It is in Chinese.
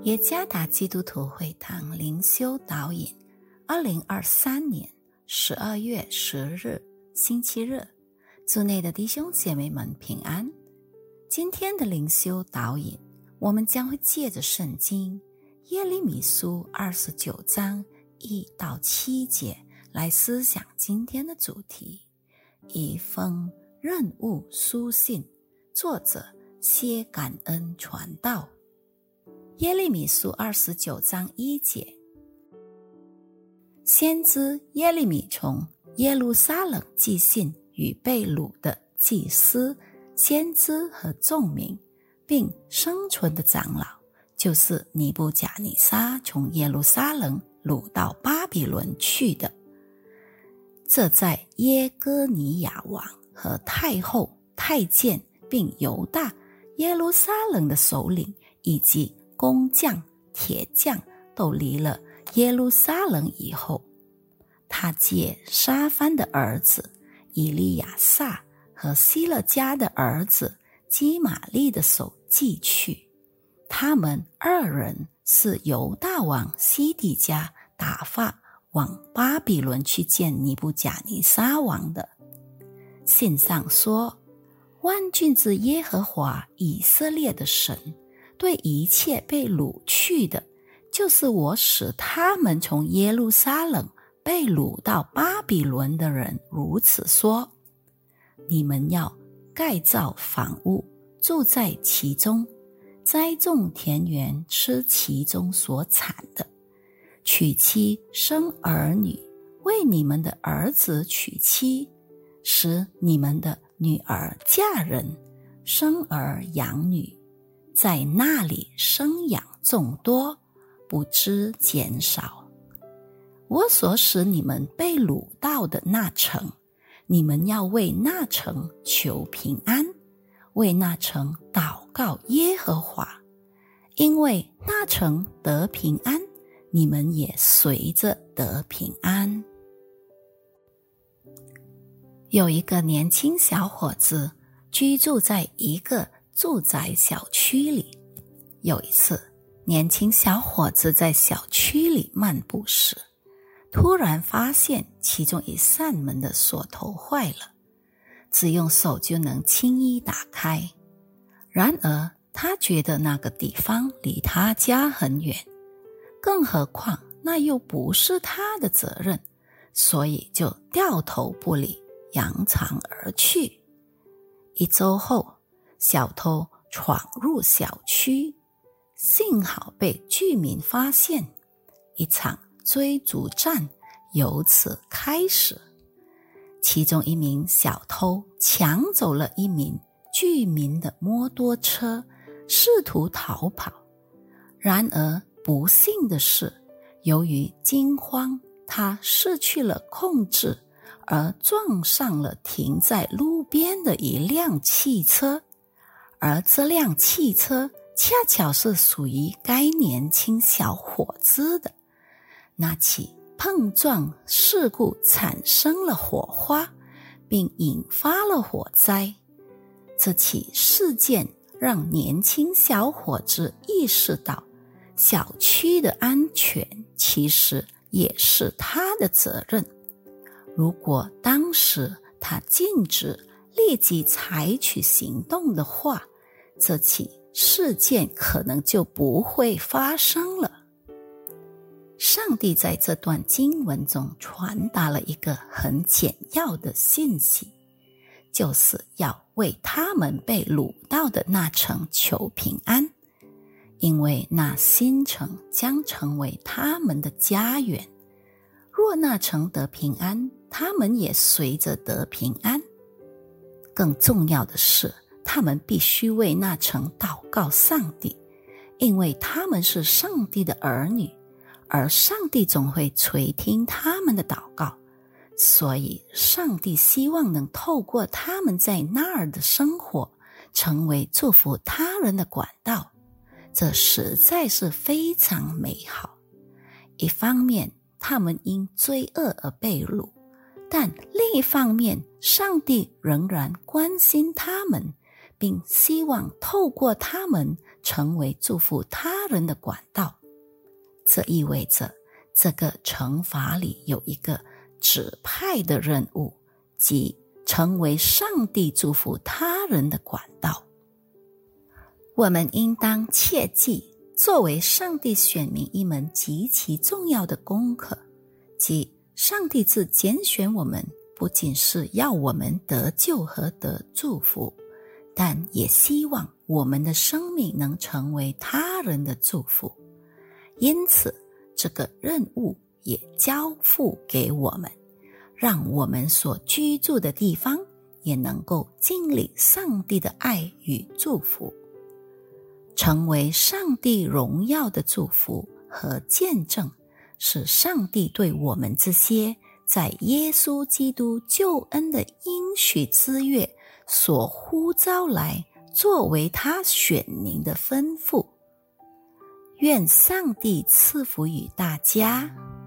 耶加达基督徒会堂灵修导引2023年12月10日星期日，主内的弟兄姐妹们平安。今天的灵修导引，我们将会借着圣经耶利米书29章1到7节来思想今天的主题，一封任务书信，作者谢感恩传道。耶利米书29章1节，先知耶利米从耶路撒冷寄信与被掳的祭司、先知和众民，并生存的长老，就是尼布甲尼撒从耶路撒冷掳到巴比伦去的。这在耶哥尼亚王和太后、太监并犹大、耶路撒冷的首领以及工匠、铁匠都离了耶路撒冷以后，他借沙番的儿子以利亚撒和希勒家的儿子基玛利的手寄去。他们二人是犹大王西底家打发往巴比伦去见尼布甲尼撒王的。信上说，万军之耶和华以色列的神对一切被掳去的，就是我使他们从耶路撒冷被掳到巴比伦的人如此说：你们要盖造房屋，住在其中，栽种田园，吃其中所产的，娶妻生儿女，为你们的儿子娶妻，使你们的女儿嫁人，生儿养女，在那里生养众多，不知减少。我所使你们被掳到的那城，你们要为那城求平安，为那城祷告耶和华，因为那城得平安，你们也随着得平安。有一个年轻小伙子居住在一个住宅小区里。有一次，年轻小伙子在小区里漫步时，突然发现其中一扇门的锁头坏了，只用手就能轻易打开。然而他觉得那个地方离他家很远，更何况那又不是他的责任，所以就掉头不理，扬长而去。一周后，小偷闯入小区，幸好被居民发现，一场追逐战由此开始。其中一名小偷抢走了一名居民的摩托车，试图逃跑。然而不幸的是，由于惊慌，他失去了控制，而撞上了停在路边的一辆汽车，而这辆汽车恰巧是属于该年轻小伙子的。那起碰撞事故产生了火花，并引发了火灾。这起事件让年轻小伙子意识到，小区的安全其实也是他的责任。如果当时他禁止立即采取行动的话，这起事件可能就不会发生了。上帝在这段经文中传达了一个很简要的信息，就是要为他们被掳到的那城求平安，因为那新城将成为他们的家园。若那城得平安，他们也随着得平安。更重要的是，他们必须为那城祷告上帝，因为他们是上帝的儿女，而上帝总会垂听他们的祷告，所以上帝希望能透过他们在那儿的生活，成为祝福他人的管道。这实在是非常美好。一方面，他们因罪恶而被掳，但另一方面，上帝仍然关心他们， 并希望透过他们成为祝福他人的管道。这意味着这个惩罚里有一个指派的任务，即成为上帝祝福他人的管道。我们应当切记，作为上帝选民一门极其重要的功课，即上帝自拣选我们，不仅是要我们得救和得祝福，但也希望我们的生命能成为他人的祝福。因此，这个任务也交付给我们，让我们所居住的地方也能够经历上帝的爱与祝福，成为上帝荣耀的祝福和见证，是上帝对我们这些在耶稣基督救恩的应许之约所呼召来作为他选民的吩咐。愿上帝赐福于大家。